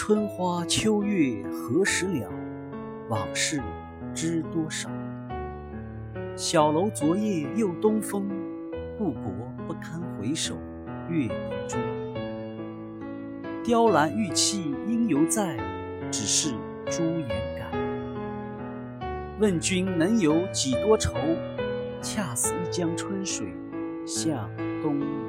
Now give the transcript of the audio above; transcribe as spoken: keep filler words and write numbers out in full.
春花秋月何时了？往事知多少？小楼昨夜又东风，故国不堪回首月明中。雕栏玉砌应犹在，只是朱颜改。问君能有几多愁？恰似一江春水向东流。